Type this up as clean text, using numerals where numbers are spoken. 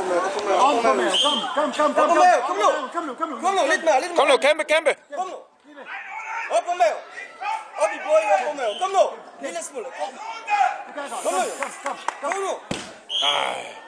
Kom nu, lidt mere. Kom nu, kæmpe. Kom nu. Op på maven. Op i bøjen, op på maven. Kom nu. Lille smule. Kom nu. Ej.